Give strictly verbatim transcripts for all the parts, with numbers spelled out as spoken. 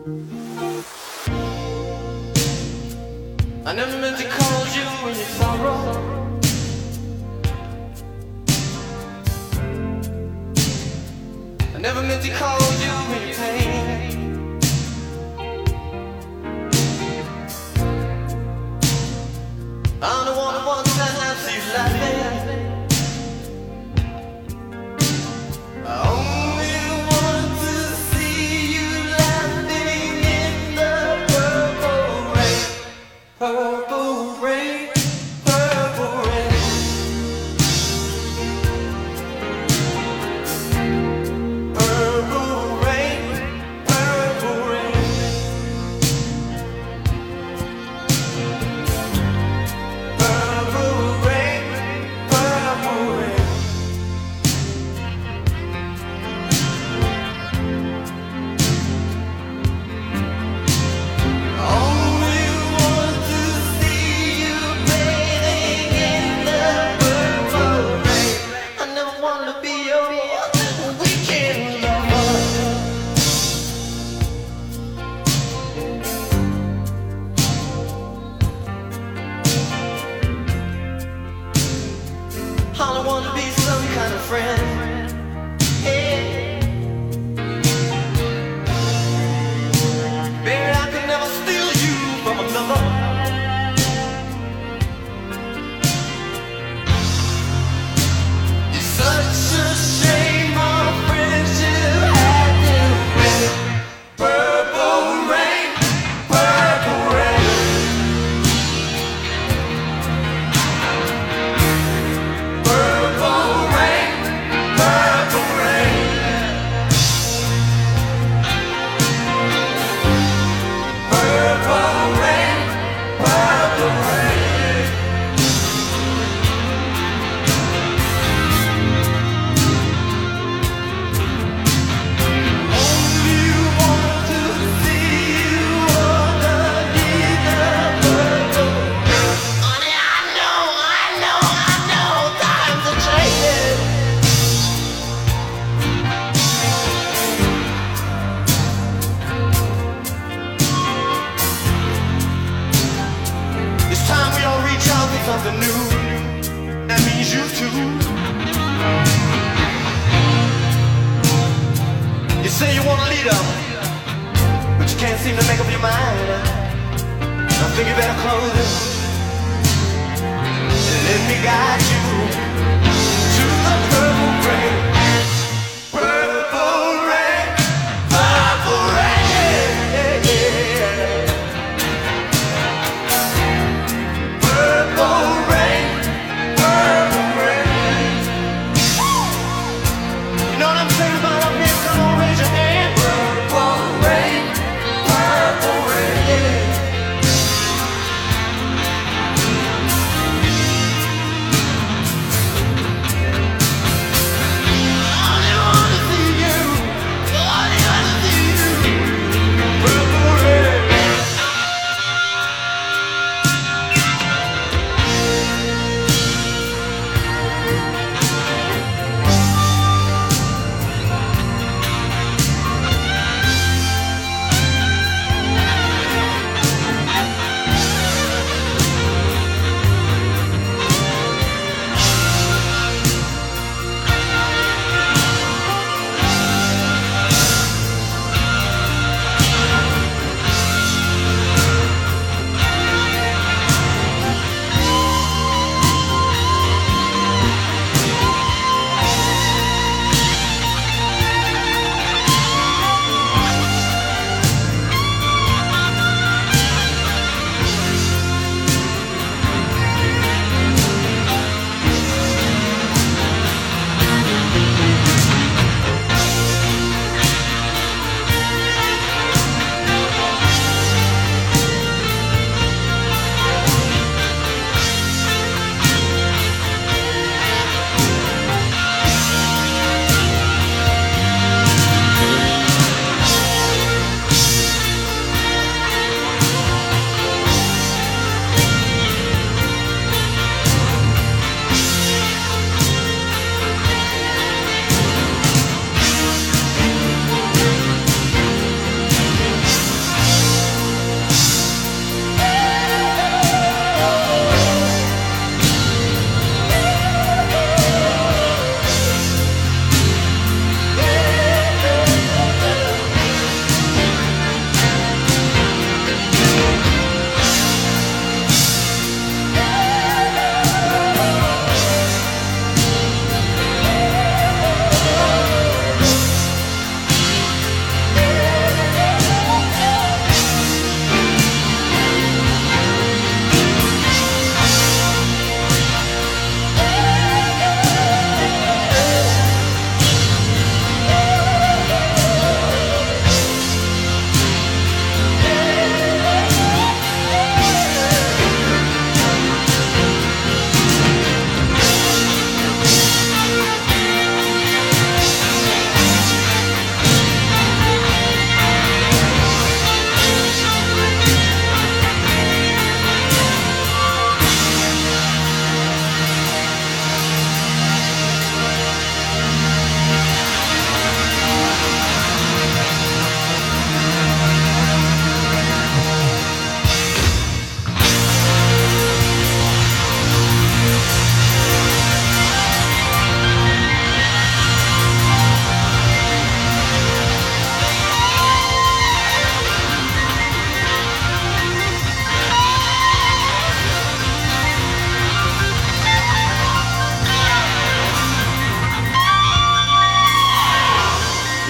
I never meant to call you in your sorrow. I never meant to call you in your pain. I'm the one who wants to have you laughing. I only want to see you laughing in the purple rain. Purple rain, purple rain. Purple rain, purple rain. Purple rain, purple rain. Only want to see you bathing in the purple rain. I never wanna be your weekend lover. I don't wanna be some kind of friend. Hey. Baby, I could never steal you from another. It's such a shame our friendship had to end. Purple rain, purple rain. Purple rain, purple rain. Purple rain, purple rain. Only want to see you underneath the purple rain. Honey, I know, I know, I know times are changing. It's time we all reach out for something new. That means you too. You say you want a leader, but you can't seem to make up your mind. I think you better close it and let me guide you to the purple rain. Purple rain, purple rain. Purple rain, purple rain. You know what I'm saying about up here? Come on, raise your hand. Purple rain, purple rain.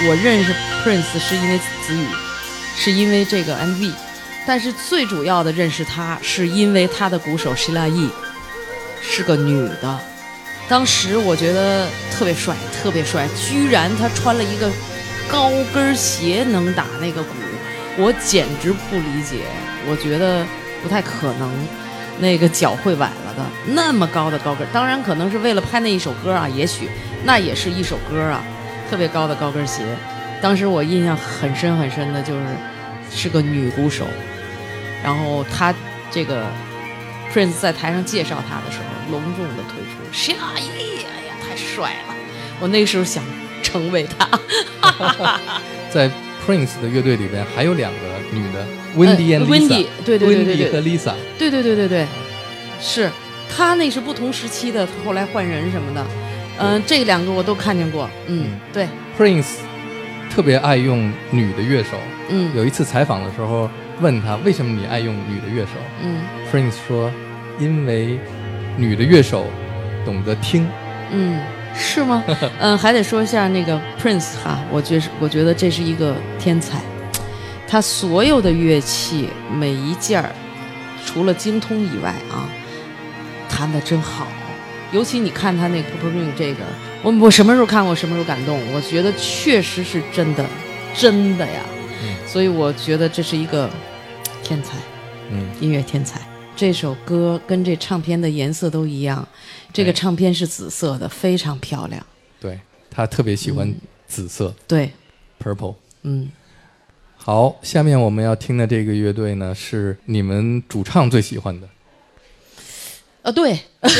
我认识 Prince 是因为子宇，是因为这个 M V， 但是最主要的认识他是因为他的鼓手 Sheila E 是个女的，当时我觉得特别帅，特别帅，居然他穿了一个高跟鞋能打那个鼓，我简直不理解，我觉得不太可能。那个脚会崴了的，那么高的高跟，当然可能是为了拍那一首歌啊，也许那也是一首歌啊，特别高的高跟鞋。当时我印象很深很深的就是是个女鼓手，然后她这个 Prince 在台上介绍她的时候，隆重的推出Sheila E，哎呀，太帅了！我那个时候想成为她。 在 Prince 的乐队里边还有两个女的 ，Wendy and Lisa， 对对对对对 ，Wendy 和 Lisa， 对对对对对，是，她那是不同时期的，后来换人什么的，嗯、呃，这两个我都看见过，嗯，嗯对 ，Prince 特别爱用女的乐手， 嗯， 有一次采访的时候问他为什么你爱用女的乐手， 嗯 ，Prince 说因为女的乐手懂得听， 嗯。是吗？嗯，还得说一下那个 Prince 哈，我觉我觉得这是一个天才，他所有的乐器每一件儿，除了精通以外啊，弹得真好。尤其你看他那个 Purple Rain 这个，我我什么时候看过，什么时候感动，我觉得确实是真的，真的呀。 嗯、 所以我觉得这是一个天才， 嗯， 音乐天才。这首歌跟这唱片的颜色都一样，这个唱片是紫色的，非常漂亮。 对，他特别喜欢紫色。嗯、 对 ，Purple。 嗯， 好，下面我们要听的这个乐队呢，是你们主唱最喜欢的。 啊，对。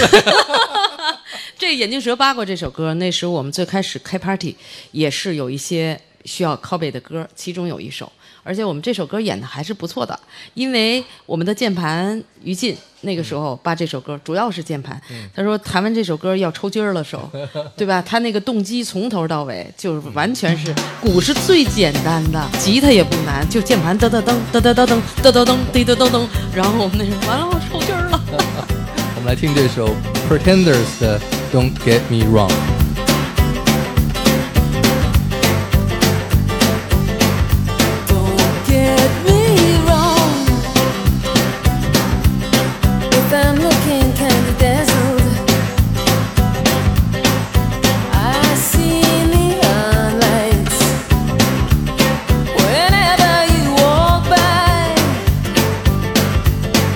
这眼镜蛇扒过这首歌，那时候我们最开始开 party 也是有一些需要 copy 的歌，其中有一首。而且我们这首歌演的还是不错的，因为我们的键盘于禁那个时候扒这首歌主要是键盘， 嗯、 他说弹完这首歌要抽筋儿了手，对吧？他那个动机从头到尾就是完全是鼓是最简单的，吉他也不难，就键盘噔噔噔噔噔噔噔噔噔噔滴噔噔噔，然后我们那时候完了我抽筋儿了。 我们来听这首 Pretenders 的 Don't Get Me Wrong。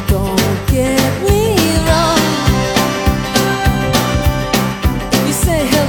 Say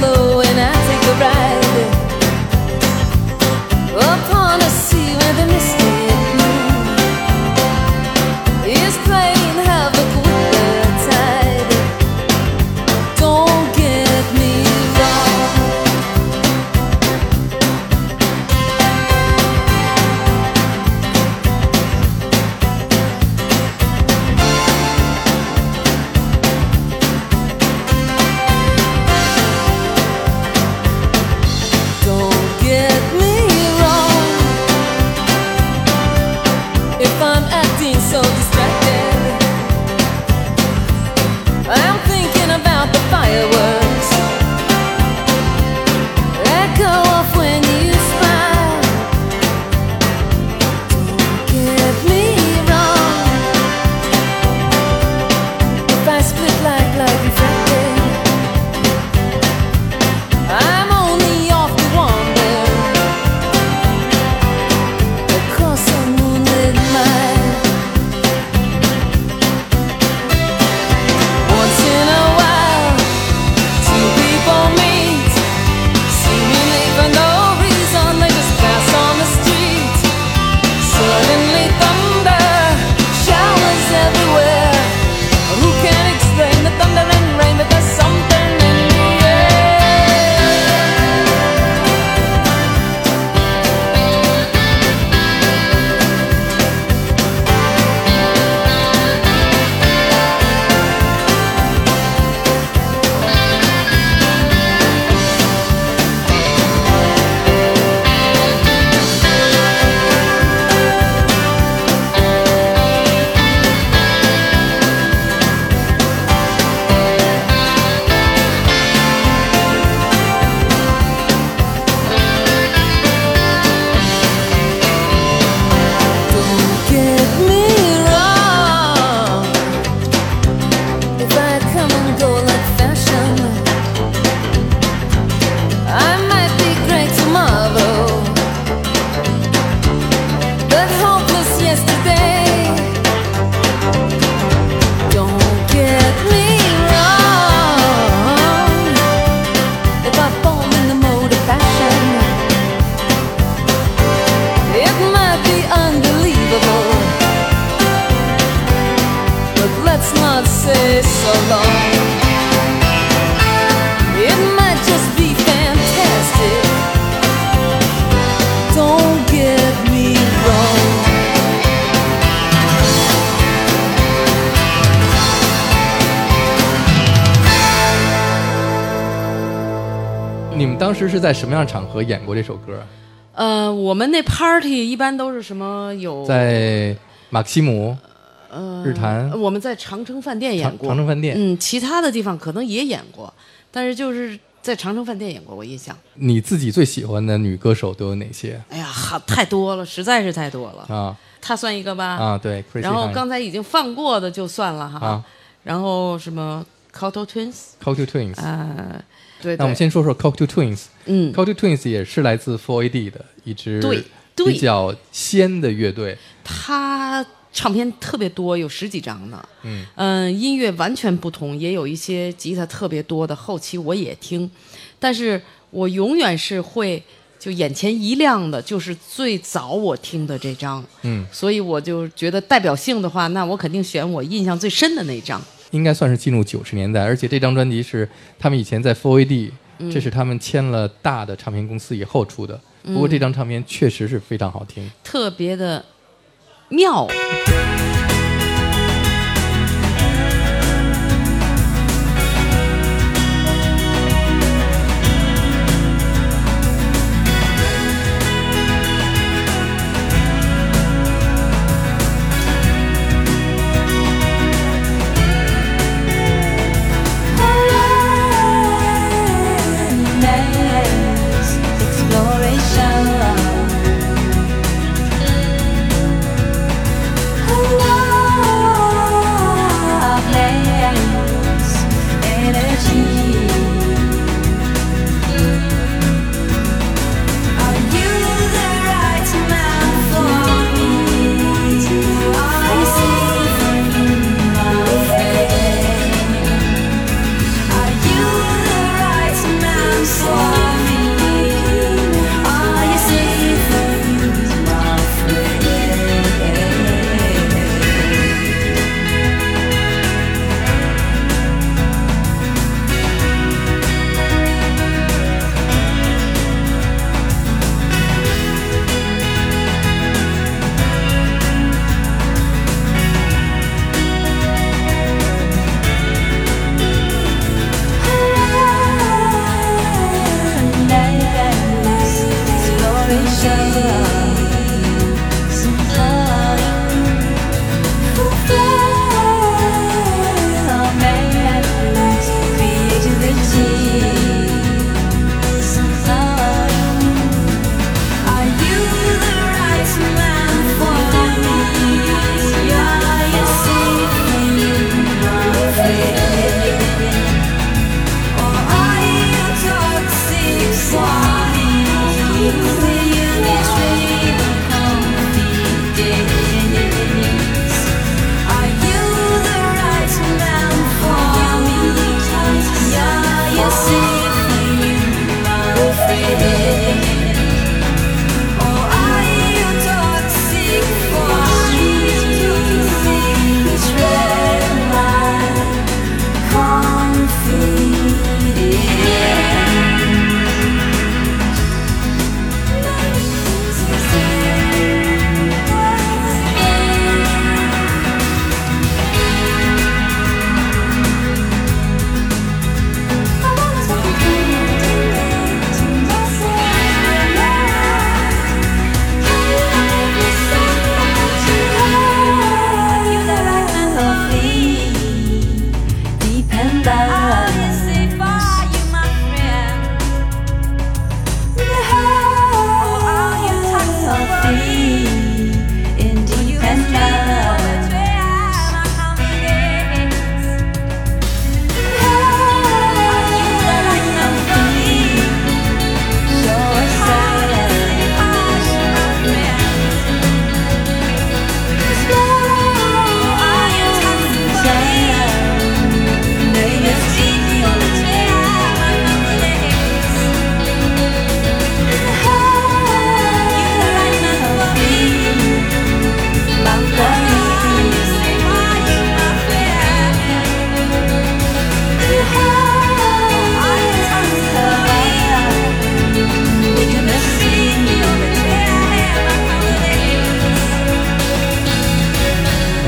so long. It might just be fantastic. Don't get me wrong. 你们当时是在什么样的场合演过这首歌？ 呃，我们那 party 一般都是什么有在马克西姆、 呃日坛， 我们在长城饭店演过， 长长城饭店。 嗯，其他的地方可能也演过，但是就是在长城饭店演过，我印象。 你自己最喜欢的女歌手都有哪些？ 哎呀，好太多了，实在是太多了啊！ 她算一个吧？ 啊，对。 然后刚才已经放过的就算了哈。 啊。 然后什么 Cocteau Twins？Cocteau Twins。 呃，对。 那我们先说说 Cocteau Twins。 嗯 ，Cocteau Twins 也是来自 four A D 的一支对比较仙的乐队。 他唱片特别多，有十几张呢。 嗯嗯、呃，音乐完全不同，也有一些吉他特别多的，后期我也听，但是我永远是会就眼前一亮的，就是最早我听的这张。 嗯， 所以我就觉得代表性的话，那我肯定选我印象最深的那张。 应该算是进入九十年代，而且这张专辑是他们以前在 four A D，、嗯、这是他们签了大的唱片公司以后出的。不过这张唱片确实是非常好听， 嗯、特别的妙。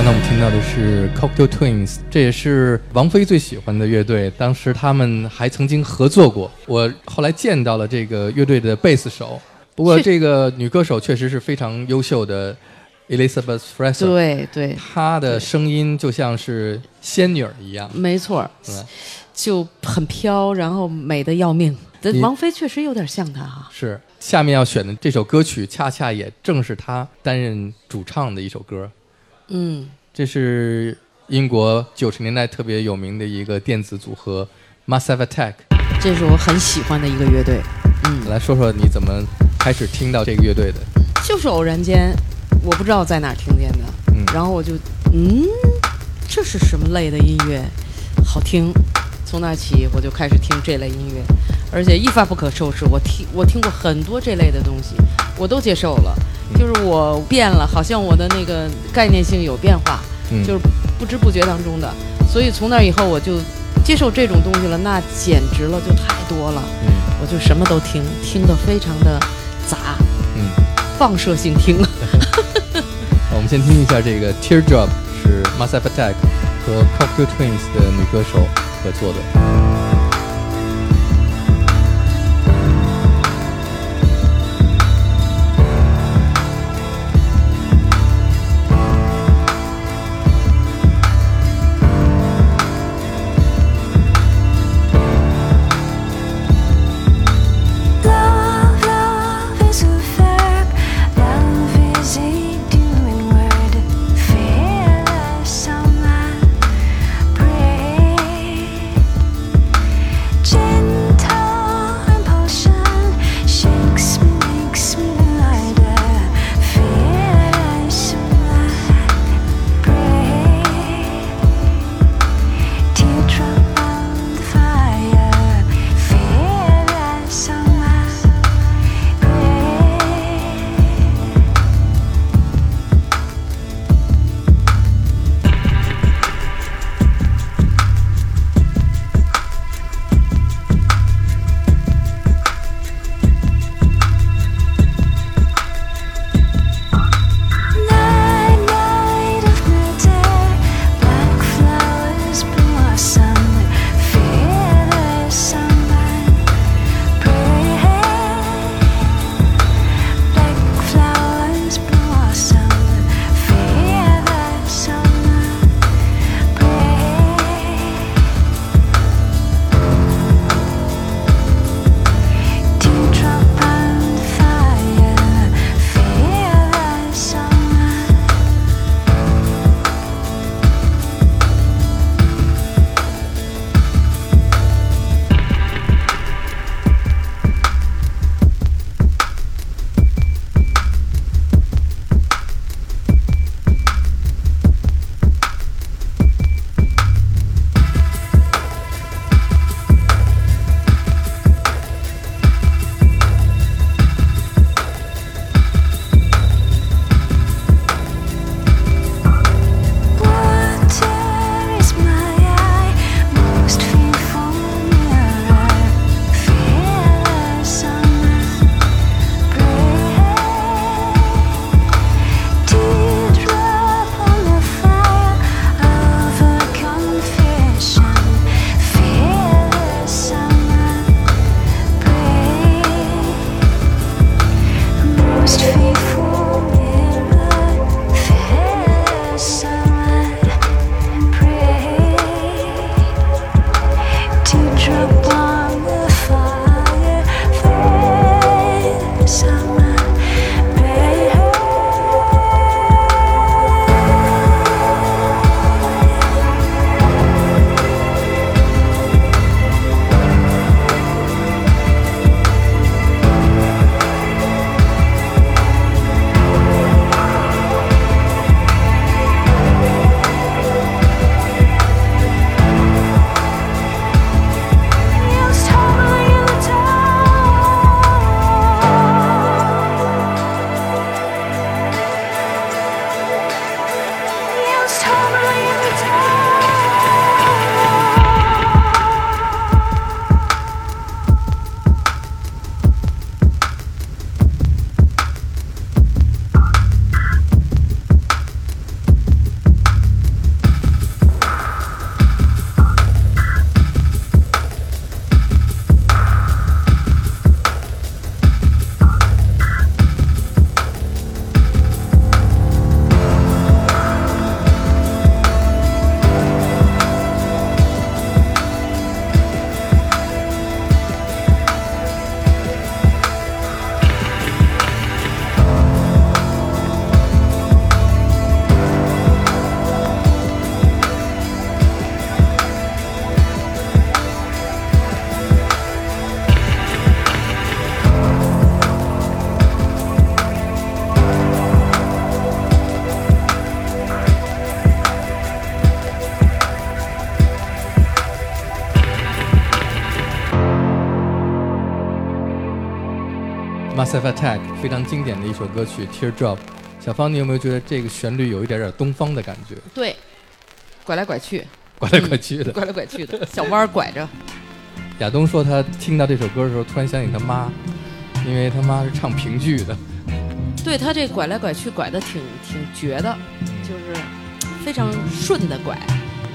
刚才我们听到的是 Cocteau Twins， 这也是王菲最喜欢的乐队，当时他们还曾经合作过。我后来见到了这个乐队的贝斯手，不过这个女歌手确实是非常优秀的 Elizabeth Fraser， 对对， 她的声音就像是仙女儿一样， 没错，就很飘，然后美得要命。王菲确实有点像她哈。 是，下面要选的这首歌曲，恰恰也正是她担任主唱的一首歌。 嗯， 这是英国九十年代特别有名的一个电子组合 Massive Attack， 这是我很喜欢的一个乐队。嗯， 来说说你怎么开始听到这个乐队的？ 就是偶然间，我不知道在哪儿听见的，嗯，然后我就嗯，这是什么类的音乐？好听。从那起我就开始听这类音乐，而且一发不可收拾。我听我听过很多这类的东西，我都接受了。就是我变了，好像我的那个概念性有变化，嗯、就是不知不觉当中的。所以从那以后我就接受这种东西了，那简直了，就太多了。嗯、我就什么都听，听得非常的杂，嗯，放射性听。 我们先听一下这个 Teardrop， 是 Massive Attack 和 Cocteau Twins 的女歌手合作的。 Massive Attack 非常经典的一首歌曲 Teardrop。小芳，你有没有觉得这个旋律有一点点东方的感觉？ 对，拐来拐去， 拐来拐去的， 嗯、拐来拐去的，小弯拐着。 亚东说他听到这首歌的时候，突然想起他妈，因为他妈是唱评剧的。 对，他这拐来拐去拐的挺挺绝的，就是非常顺的拐。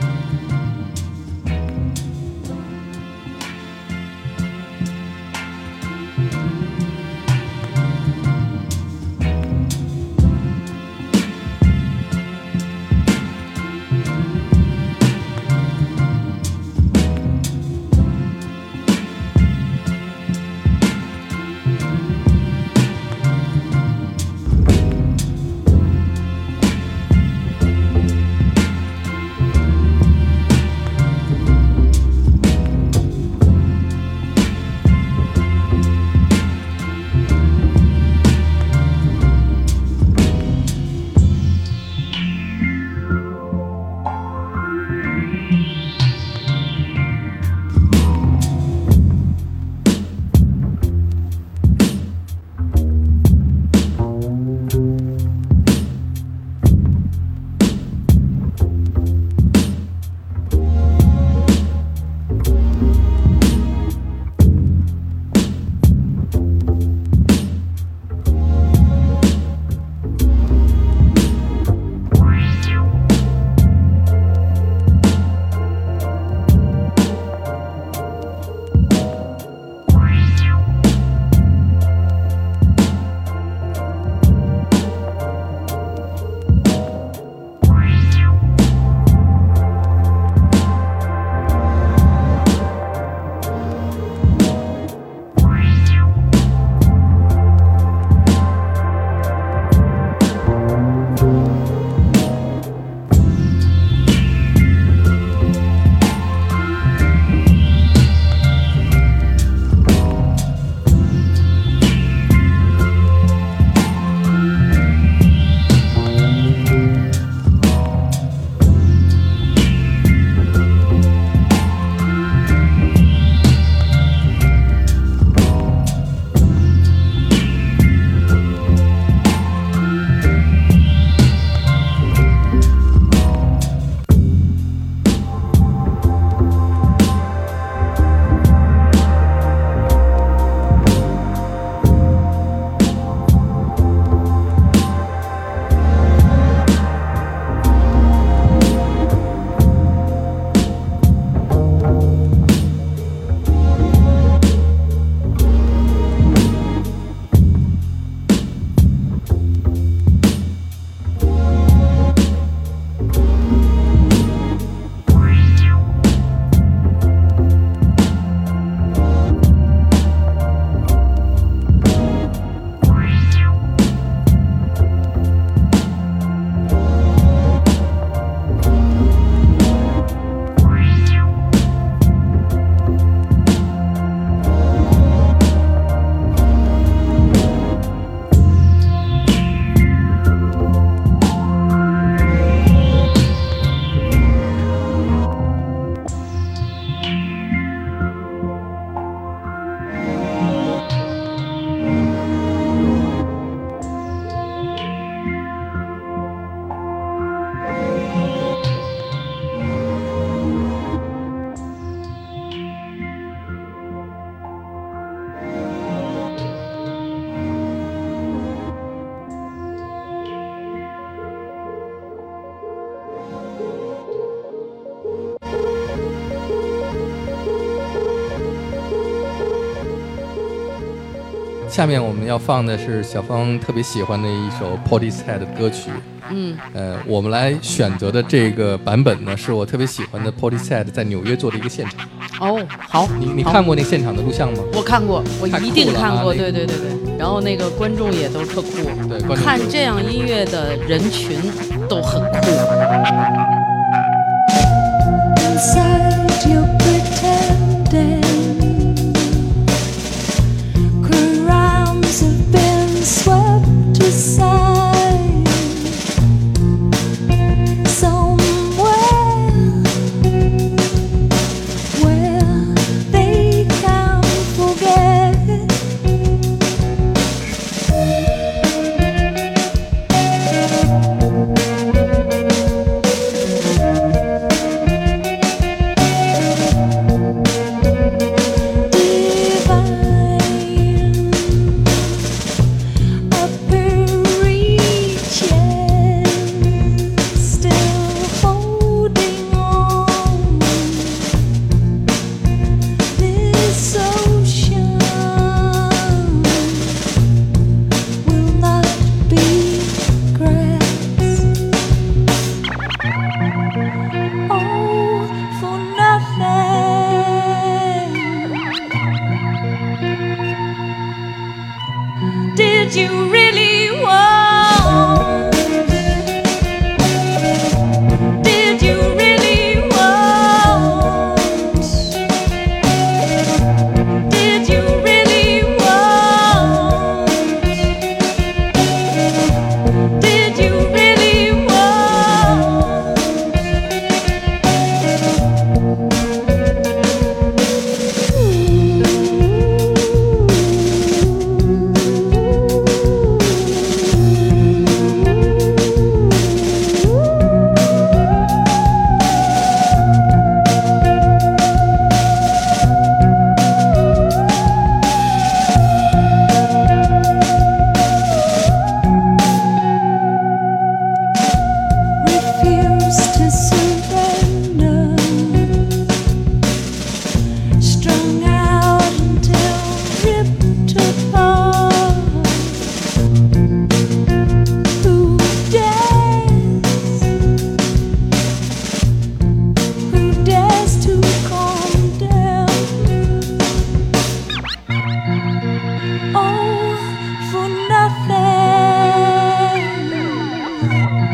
下面我们要放的是小芳特别喜欢的一首 Portishead 的歌曲。 嗯， 呃，我们来选择的这个版本呢，是我特别喜欢的 Portishead 在纽约做的一个现场。 哦，好， 你你好看过那现场的录像吗？ 我看过，我一定看过， 太酷了啊对对对对。然后那个观众也都特酷， 对，观众看这样音乐的人群都很酷。 Inside you're pretending crimes have been swept aside somewhere where they can't forget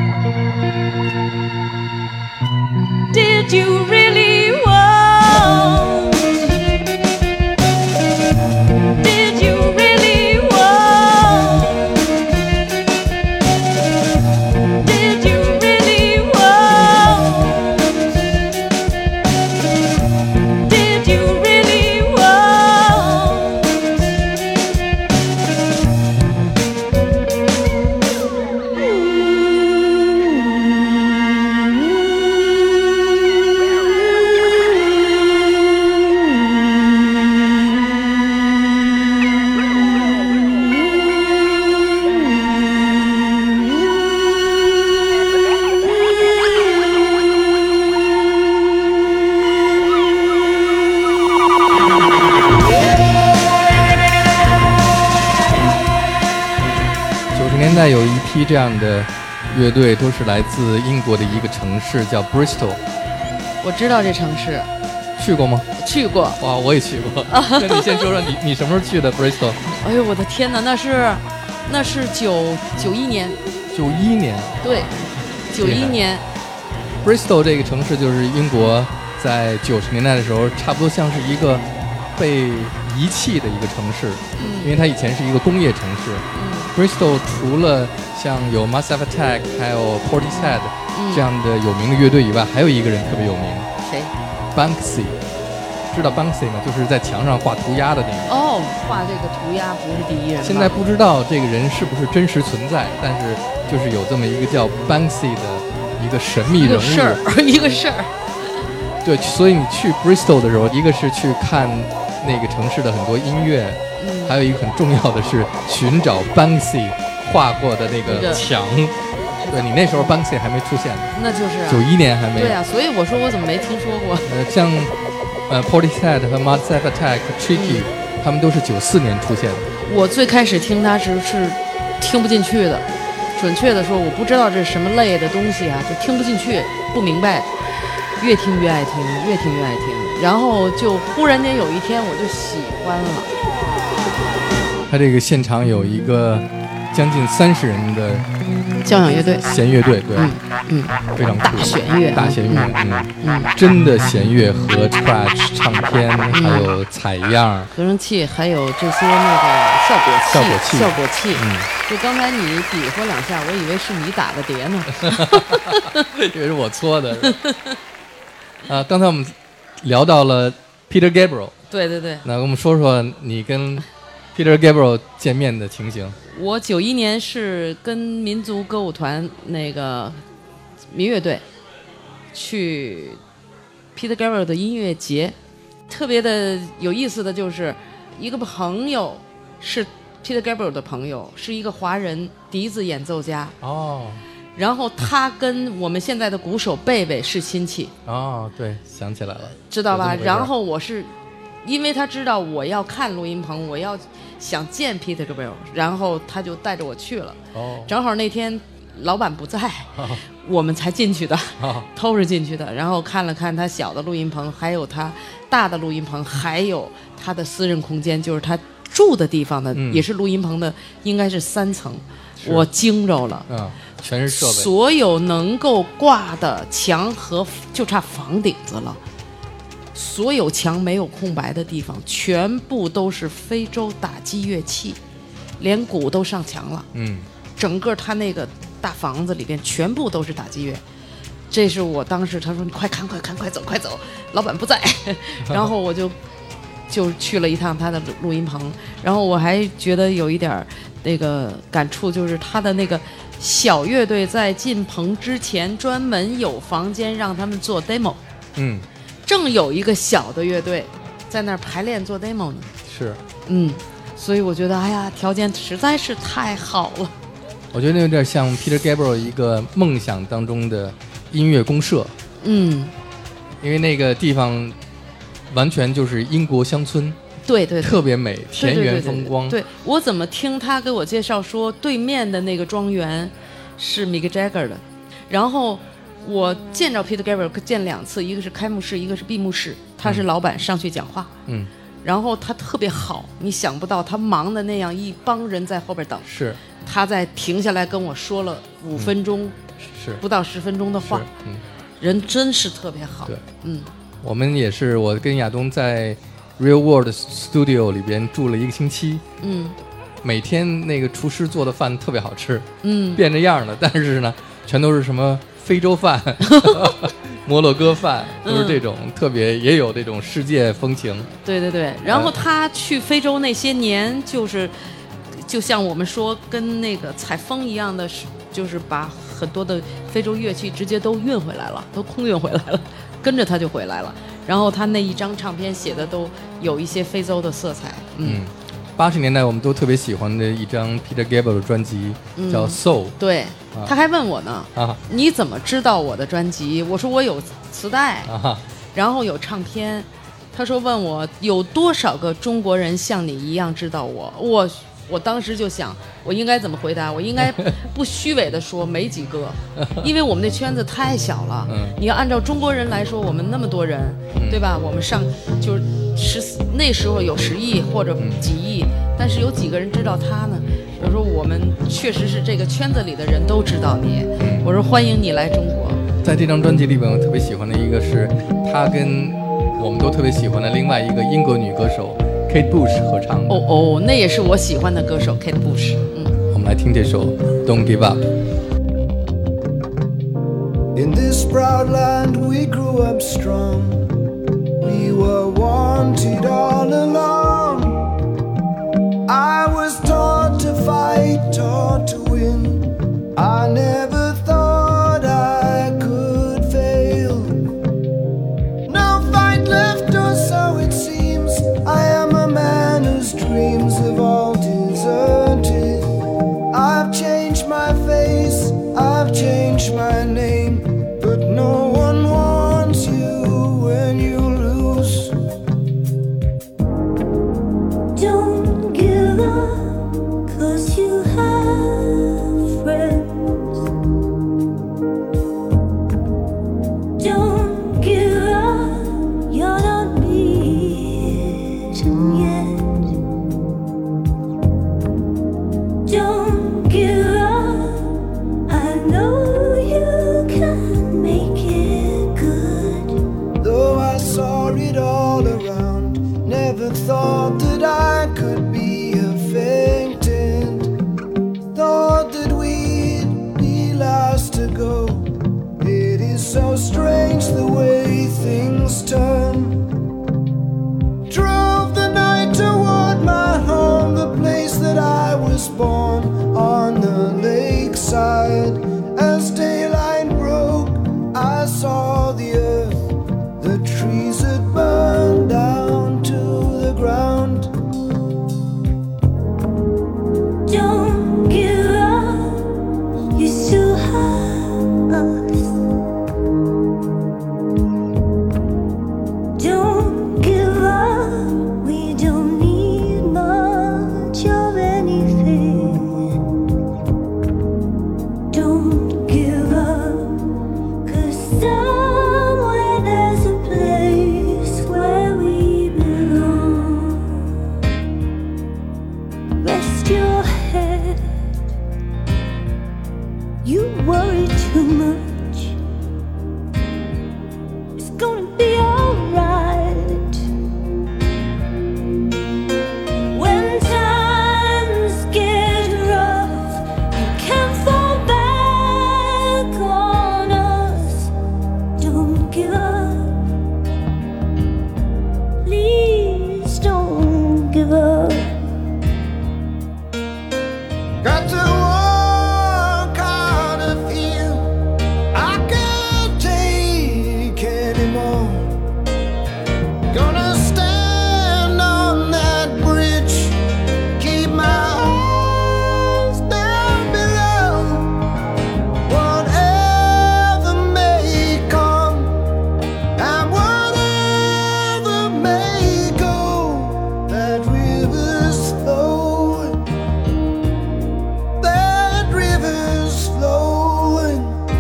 Did you really want? Did you really want? Did you really want? Did you really want? 九十年代有一批这样的乐队，都是来自英国的一个城市叫 Bristol， 我知道这城市， 去过吗？ 去过。 哇，我也去过。那你先说说你你什么时候去的 Bristol？ 哎呦，我的天哪，那是那是九九一年， 九一年。 对，九一年。 Bristol 这个城市就是英国在九十年代的时候，差不多像是一个被遗弃的一个城市， 嗯因为它以前是一个工业城市。 嗯 Bristol 除了像有 Massive Attack 还有 Portishead 嗯这样的有名的乐队以外，还有一个人特别有名谁？ ，Banksy。知道 Banksy 吗？就是在墙上画涂鸦的那个。 哦，画这个涂鸦不是第一人吧。 现在不知道这个人是不是真实存在，但是就是有这么一个叫 Banksy 的一个神秘一人物。 个事儿，一个事儿。 对，所以你去 Bristol 的时候，一个是去看那个城市的很多音乐， 嗯， 还有一个很重要的是寻找 Banksy 画过的那那个个墙。对，你那时候 Banksy 还没出现， 那就是啊九一年还没有。 对啊，所以我说我怎么没听说过？ 呃，像呃 Portishead 和 Massive Attack、Tricky，、他们都是九四年出现的。 我最开始听它时是听不进去的，准确的说，我不知道这是什么类的东西啊，就听不进去，不明白。越听越爱听，越听越爱听，然后就忽然间有一天我就喜欢了。 他这个现场有一个将近三十人的交响乐队， 弦乐队，对， 嗯嗯， 非常酷。 大弦乐， 大弦乐， 嗯嗯， 嗯， 真的弦乐和 scratch 唱片，还有采样， 合成器，还有这些那个效果器， 效果器效果器。 嗯， 就刚才你比划两下，我以为是你打的碟呢。 这个是我搓的。啊，刚才我们聊到了 Peter Gabriel， 对对对， 那跟我们说说你跟 Peter Gabriel 见面的情形。 我九一年是跟民族歌舞团那个民乐队去 Peter Gabriel 的音乐节，特别的有意思的就是一个朋友是 Peter Gabriel 的朋友，是一个华人笛子演奏家， 哦然后他跟我们现在的鼓手贝贝是亲戚， 哦，对，想起来了， 知道吧？ 有这么回事然后我是因为他知道我要看录音棚，我要想见 Peter Gabriel， 然后他就带着我去了。 哦， 正好那天老板不在， 哦我们才进去的， 哦偷着进去的。然后看了看他小的录音棚，还有他大的录音棚，还有他的私人空间，就是他住的地方的， 嗯也是录音棚的，应该是三层。 是我惊着了。 嗯，全是设备， 所有能够挂的墙和就差房顶子了，所有墙没有空白的地方，全部都是非洲打击乐器，连鼓都上墙了。 嗯， 整个他那个大房子里边全部都是打击乐。这是我当时他说你快看快看快走快走，老板不在，然后我就就去了一趟他的录录音棚，然后我还觉得有一点儿那个感触，就是他的那个小乐队在进棚之前专门有房间让他们做 demo， 嗯， 正有一个小的乐队在那儿排练做 demo 呢。 是， 嗯，所以我觉得哎呀，条件实在是太好了。 我觉得有点像 Peter Gabriel 一个梦想当中的音乐公社， 嗯， 因为那个地方完全就是英国乡村， 对对对， 特别美，田园对对对对风光。 对，我怎么听他给我介绍说，对面的那个庄园是 Mick Jagger 的，然后我见着 Peter Gabriel 见两次，一个是开幕式，一个是闭幕式，他是老板上去讲话， 嗯， 然后他特别好，你想不到他忙的那样，一帮人在后边等， 是他在停下来跟我说了五分钟是不到十分钟的话是，嗯， 人真是特别好。 对， 嗯， 我们也是，我跟亚东在 Real World Studio 里边住了一个星期， 嗯每天那个厨师做的饭特别好吃， 嗯， 变着样的，但是呢，全都是什么非洲饭、摩洛哥饭，都是这种、 嗯、 特别，也有这种世界风情。 对对对，然后他去非洲那些年，就是就像我们说跟那个采风一样的，就是把很多的非洲乐器直接都运回来了，都空运回来了，跟着他就回来了。然后他那一张唱片写的都有一些非洲的色彩。嗯。嗯八十年代我们都特别喜欢的一张 Peter Gabriel 的专辑、嗯、叫 Soul。 对、 啊、 他还问我呢、 啊、 你怎么知道我的专辑？我说我有磁带、 啊、 然后有唱片。他说问我有多少个中国人像你一样知道我。我我当时就想我应该怎么回答，我应该不虚伪的说没几个，因为我们那圈子太小了、嗯、你要按照中国人来说，我们那么多人、嗯、对吧，我们上就是十那时候有十亿或者几亿、嗯、但是有几个人知道他呢？我说我们确实是这个圈子里的人都知道你、嗯、我说欢迎你来中国。 在这张专辑里边我特别喜欢的一个是他跟我们都特别喜欢的另外一个英国女歌手Kate Bush 合唱的。 哦哦，那也是我喜欢的歌手 Kate Bush。嗯， 我们来听这首 Don't Give Up。 In this proud land we grew up strong. We were wanted all along. I was taught to fight, taught to win. I never thought I could fail. No fight left, or so it seems. I am a man whose dreams have all deserted. I've changed my face, I've changed my name, but no one wants you when you lose. Don't give up, 'cause you have friends. Don't give up, you're not beaten yet. Don't give up, I know you can make it good. Though I saw it all around, never thought that I could be affected. Thought that we'd be last to go. It is so strange the way things turn. Drove the night toward my home, the place that I was born, on the lakeside. As daylight broke, I saw the earth, the trees had burned down to the ground. Don't give up, you still have us. Don't give up, we don't need much of anything. Don't give up, 'cause somewhere there's a place where we belong. Rest your head, you worry too much. It's gonna be alright. When times get rough, you can't fall back on us. Don't give up, please don't give up. Got to walk out of here, I can't take anymore. Gonna stand on that bridge, keep my eyes down below. Whatever may come, and whatever may go, that river's flowing, that river's flowing.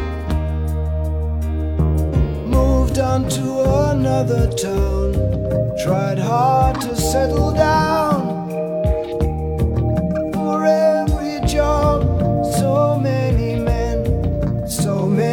Moved on to another town, tried hard to settle down. For every job, so many men, so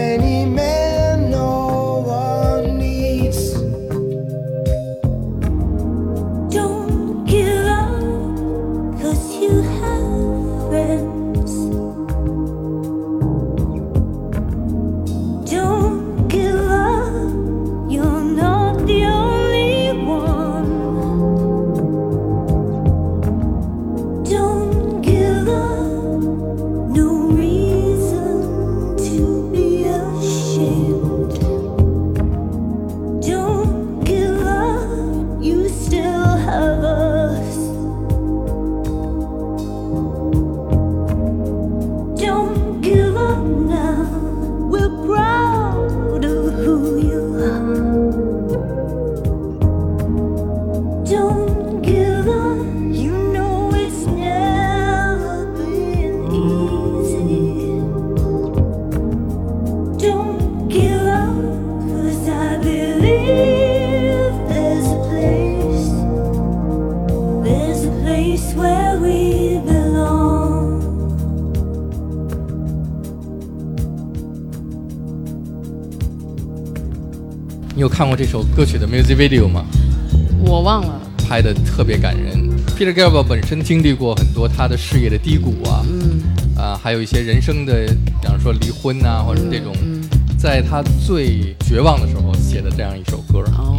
你有看过这首歌曲的 music video 吗？ 我忘了。 拍的特别感人。Peter Gabriel 本身经历过很多他的事业的低谷啊， 嗯啊，还有一些人生的，比方说离婚啊，或者这种， 嗯在他最绝望的时候写的这样一首歌。 哦，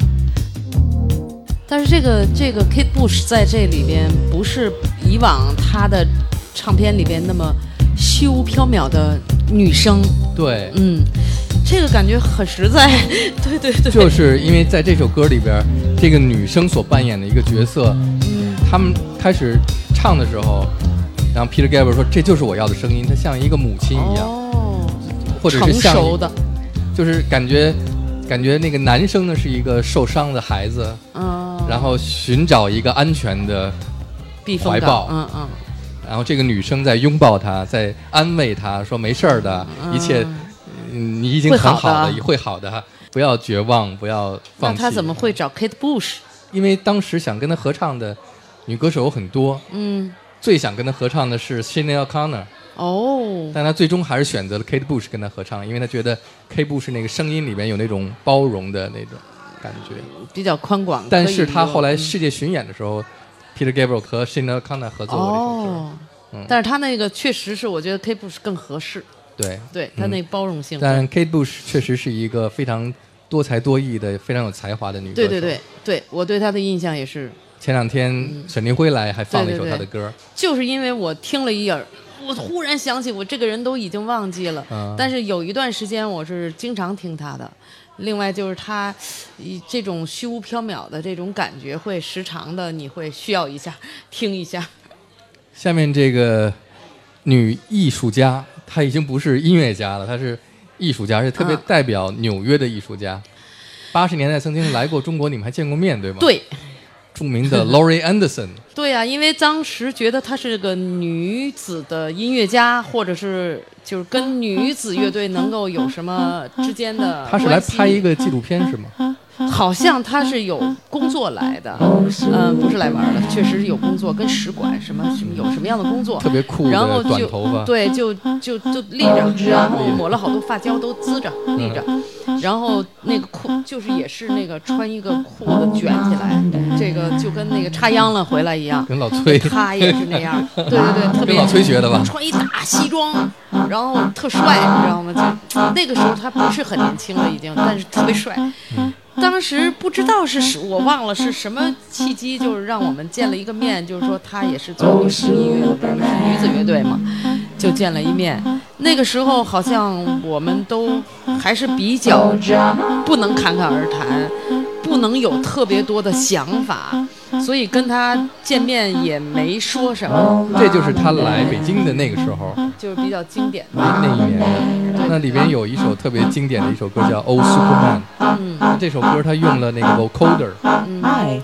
但是这个这个 Kate Bush 在这里边不是以往他的唱片里边那么虚无缥缈的女生， 对， 嗯，这个感觉很实在，对对对， 就是因为在这首歌里边，这个女生所扮演的一个角色， 嗯他们开始唱的时候，然后 Peter Gabriel 说这就是我要的声音，她像一个母亲一样， 哦， 或者是像成熟的， 就是感觉感觉那个男生呢是一个受伤的孩子， 嗯， 然后寻找一个安全的避风港怀抱， 嗯嗯， 然后这个女生在拥抱他，在安慰他说没事儿的， 嗯一切、嗯、你已经很好了， 会好的会好的，不要绝望，不要放弃。 那他怎么会找 Kate Bush？ 因为当时想跟他合唱的女歌手有很多， 嗯， 最想跟他合唱的是 Sinead O'Connor， 哦， 但他最终还是选择了 Kate Bush 跟他合唱，因为他觉得 Kate Bush 那个声音里面有那种包容的那种感觉。 比较宽广。 但是他后来可以世界巡演的时候、嗯、，Peter Gabriel 和 Sinead O'Connor 合作过这首歌。 哦嗯、 但是他那个确实是，我觉得 Kate Bush 更合适。 对， 对他那包容性。 但 Kate Bush 确实是一个非常多才多艺的、非常有才华的女歌手。 对对对对，我对她的印象也是。 前两天沈凌辉来还放了一首她的歌， 对对对，就是因为我听了一耳，我忽然想起我这个人都已经忘记了， 嗯、 但是有一段时间我是经常听她的。另外就是她这种虚无缥缈的这种感觉，会时常的你会需要一下听一下。 下面这个女艺术家，她已经不是音乐家了，她是艺术家，而且特别代表纽约的艺术家。八十、嗯、年代曾经来过中国，你们还见过面对吗？ 对。 著名的 Laurie Anderson。 对呀、啊，因为当时觉得她是个女子的音乐家，或者是就是跟女子乐队能够有什么之间的她是来拍一个纪录片是吗？ 好像她是有工作来的，嗯，不是来玩的，确实有工作，跟使馆什么什么有什么样的工作， 特别酷的然后短头发， 对，就就就立着，然后抹了好多发胶都滋着立着， 嗯、 然后那个裤就是也是那个穿一个裤子卷起来，这个就跟那个插秧了回来一样， 跟老崔， 他也是那样，对对对，特别跟老崔学的吧， 穿一大西装，然后特帅，你知道吗？就那个时候他不是很年轻了已经，但是特别帅。 嗯当时不知道是我忘了是什么契机，就是让我们见了一个面，就是说他也是做女士音乐的，是女子乐队嘛，就见了一面。那个时候好像我们都还是比较不能侃侃而谈，不能有特别多的想法，所以跟他见面也没说什么。 这就是他来北京的那个时候， 就是比较经典的那一年的。那里边有一首特别经典的一首歌叫《Old Superman》， 嗯， 这首歌他用了那个 vocoder。 Hi,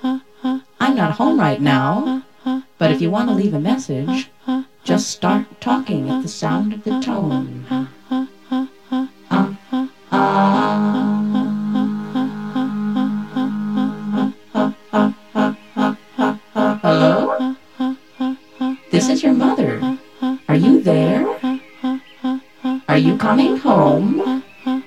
I'm not home right now, but if you want to leave a message, just start talking at the sound of the tone. Hello? This is your mother. Are you there? Are you coming home?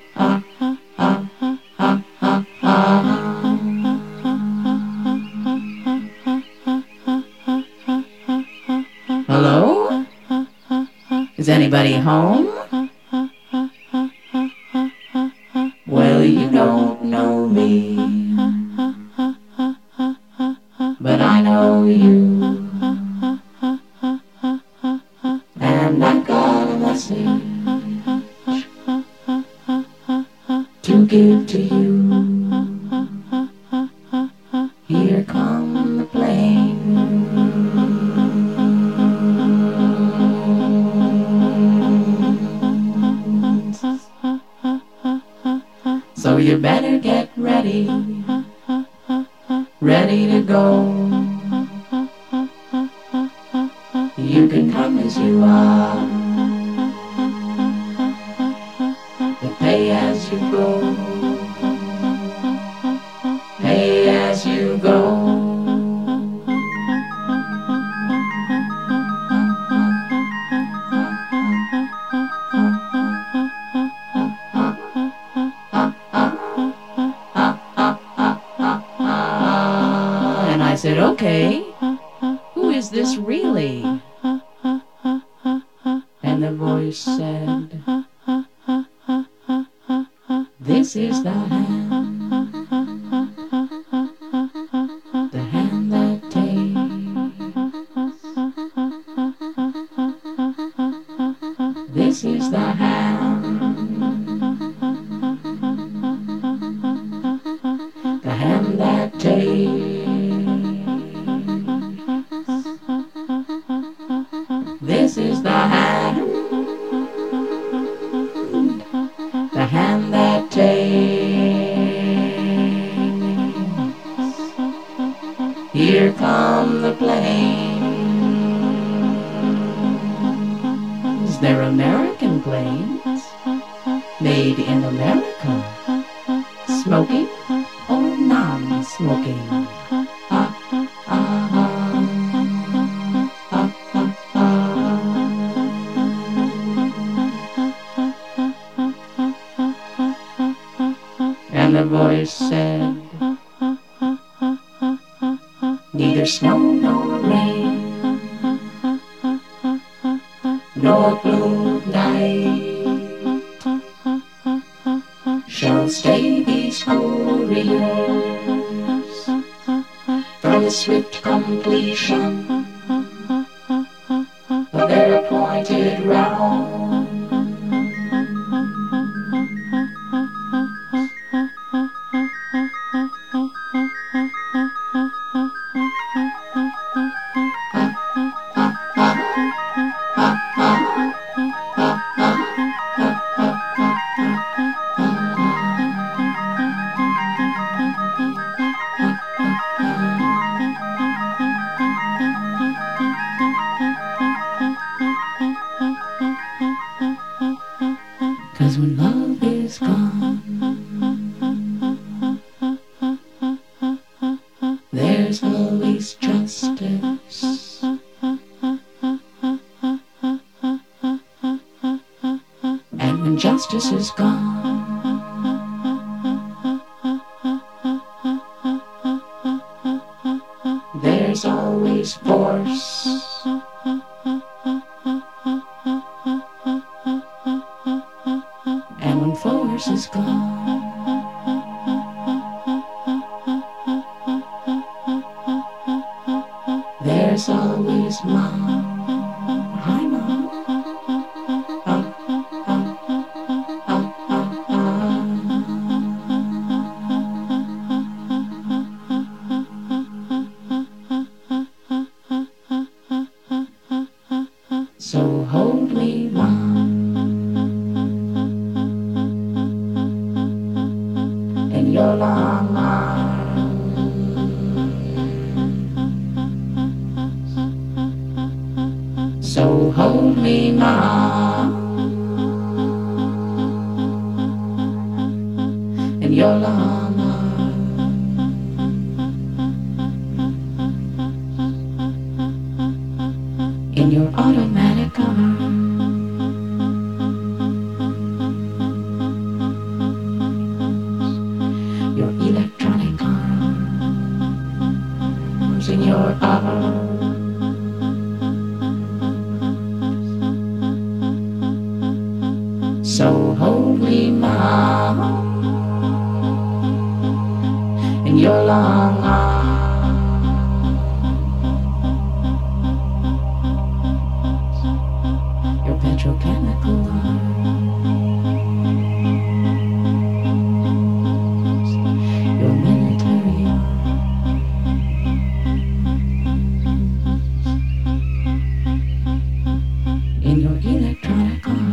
Hello? Is anybody home? Well, you don't know me, but I know you, and I've got a message to give to you. Here come the planes, so you better get ready, ready to go. You can come as you are, but pay as you go, pay as you go. Okay, who is this really? And the voice said, this is the hand, the hand that takes. This is the hand, the hand that takes. This is the hand, the hand that takes. Here come the planes. They're American planes, made in America. Smoking or non-smoking? Ah, ah, ah. Ah, ah, ah. And the voice said, neither snow nor rain, nor blue night shall stay these couriers from the swift completion of their appointed round. Cause when love is gone, there's always justice. And when justice is gone, there's always force. And when force is gone, there's always mom. Hi, mom. Ah, ah, ah, ah, ah. So hold me, mom. In your long arms. So hold me, mom, in your long arms. In your automatic arms. Your electronic arms, in your arms. So hold me, mom, in your long arms. Your petrochemical arms, your military arms, in your electronic arms.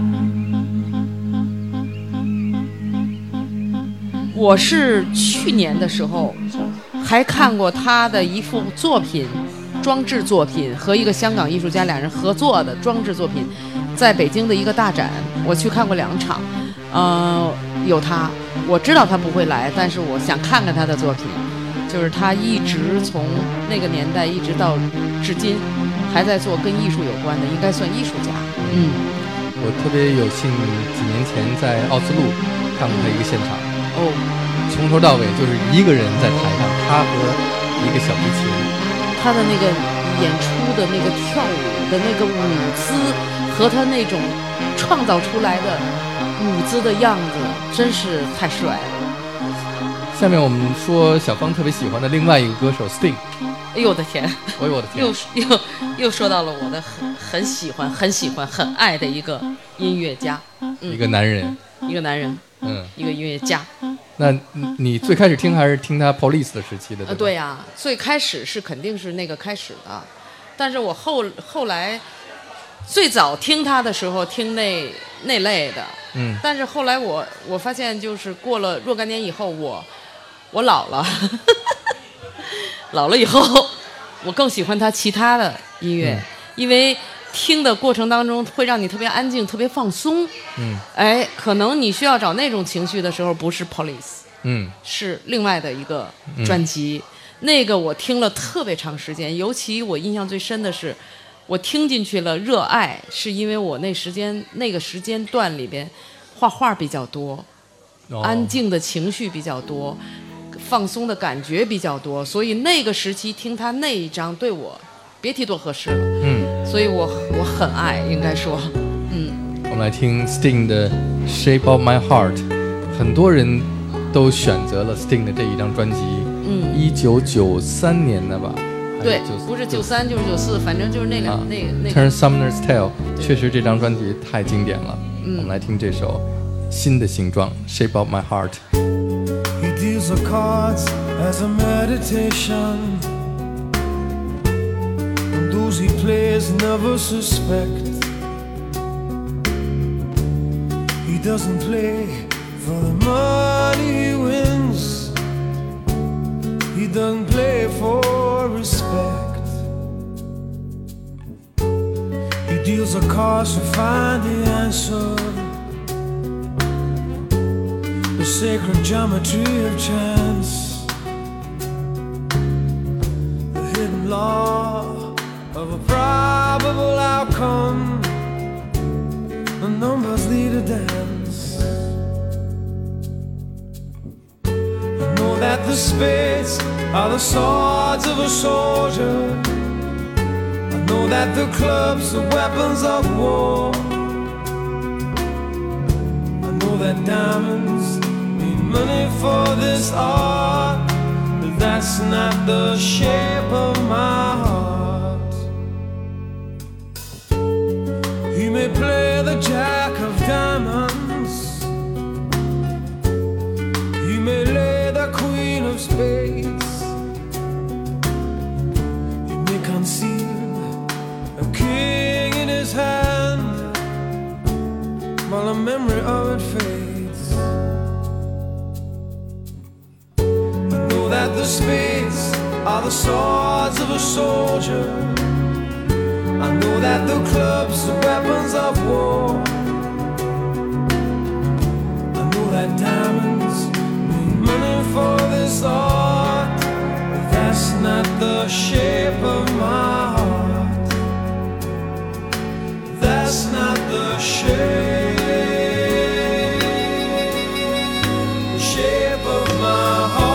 我是去年的时候还看过他的一幅作品，装置作品和一个香港艺术家两人合作的装置作品，在北京的一个大展，我去看过两场。呃，有他，我知道他不会来，但是我想看看他的作品。就是他一直从那个年代一直到至今，还在做跟艺术有关的，应该算艺术家。嗯， 我特别有幸几年前在奥斯陆看过他一个现场。 哦， 从头到尾就是一个人在台上，他和一个小提琴， 他的那个演出的那个跳舞的那个舞姿和他那种创造出来的舞姿的样子，真是太帅了。 下面我们说小芳特别喜欢的另外一个歌手 Sting。 哎呦我的天！ 哎呦我的天！ 又又又说到了我的很很喜欢、很喜欢、很爱的一个音乐家，嗯、 一个男人， 一个男人， 嗯， 一个音乐家。 那你最开始听还是听他 Police 的时期的？ 呃，对呀、啊，最开始是肯定是那个开始的，但是我后后来最早听他的时候听那那类的， 嗯， 但是后来我我发现就是过了若干年以后，我我老了。老了以后，我更喜欢他其他的音乐，嗯、因为听的过程当中会让你特别安静、特别放松。 嗯， 哎，可能你需要找那种情绪的时候，不是 Police， 嗯， 是另外的一个专辑。嗯、那个我听了特别长时间，尤其我印象最深的是，我听进去了，热爱，是因为我那时间那个时间段里边画画比较多， 哦、 安静的情绪比较多。放松的感觉比较多，所以那个时期听他那一张对我别提多合适了。 嗯， 所以我我很爱，应该说，嗯。 我们来听 Sting 的 Shape of My Heart， 很多人都选择了 Sting 的这一张专辑， 嗯， 一九九三年的吧？ 对，不是九三就是九四，反正就是那两、啊、那那。 Turn Sumner's Tale， 确实这张专辑太经典了。 嗯， 我们来听这首新的形状 Shape of My Heart。He deals the cards as a meditation, and those he plays never suspect. He doesn't play for the money he wins, he doesn't play for respect. He deals the cards to find the answer, the sacred geometry of chance, the hidden law of a probable outcome. The numbers lead a dance. I know that the spades are the swords of a soldier, I know that the clubs are weapons of war, I know that diamonds money for this art, but that's not the shape of my heart. He may play the jack of diamonds, he may lay the queen of spades, he may conceal a king in his hand while the memory of it fades. That the spades are the swords of a soldier, I know that the clubs are weapons of war, I know that diamonds mean money for this art, but that's not the shape of my heart. That's not the shape, the shape of my heart.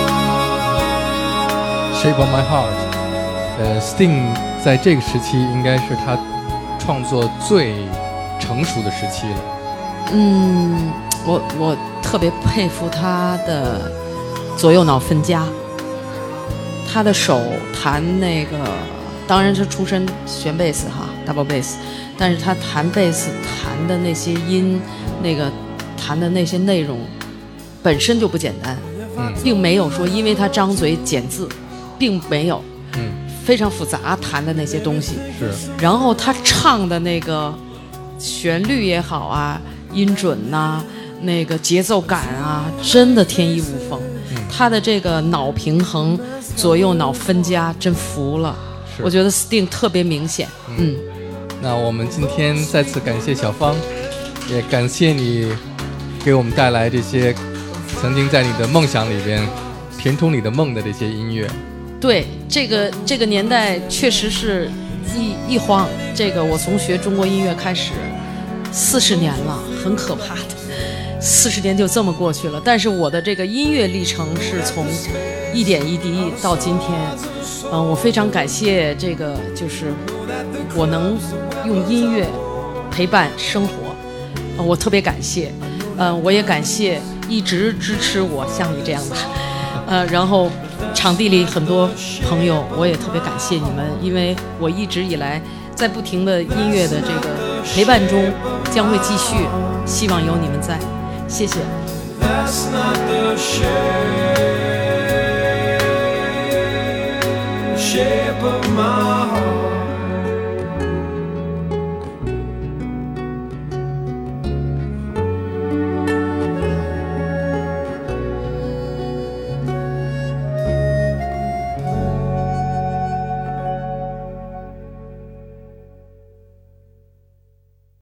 Shape of My Heart， 呃 ，Sting 在这个时期应该是他创作最成熟的时期了。 嗯，我我特别佩服他的左右脑分家，他的手弹那个，当然是出身弦贝斯哈 ，double bass， 但是他弹贝斯弹的那些音，那个弹的那些内容本身就不简单， 嗯， 并没有说因为他张嘴捡字。并没有， 嗯， 非常复杂弹的那些东西是， 然后他唱的那个旋律也好啊，音准呐、啊，那个节奏感啊，真的天衣无缝。 嗯、 他的这个脑平衡、左右脑分家，真服了。我觉得 Sting 特别明显。嗯， 嗯那我们今天再次感谢小芳，也感谢你给我们带来这些曾经在你的梦想里边填充你的梦的这些音乐。 对，这个这个年代确实是一一晃，这个我从学中国音乐开始，四十年了，很可怕的，四十年就这么过去了。但是我的这个音乐历程是从一点一滴到今天， 嗯，我非常感谢这个，就是我能用音乐陪伴生活，呃、我特别感谢。嗯，我也感谢一直支持我像你这样的，呃，然后场地里很多朋友，我也特别感谢你们，因为我一直以来在不停的音乐的这个陪伴中，将会继续，希望有你们在，谢谢。 That's not the shape, shape of my heart.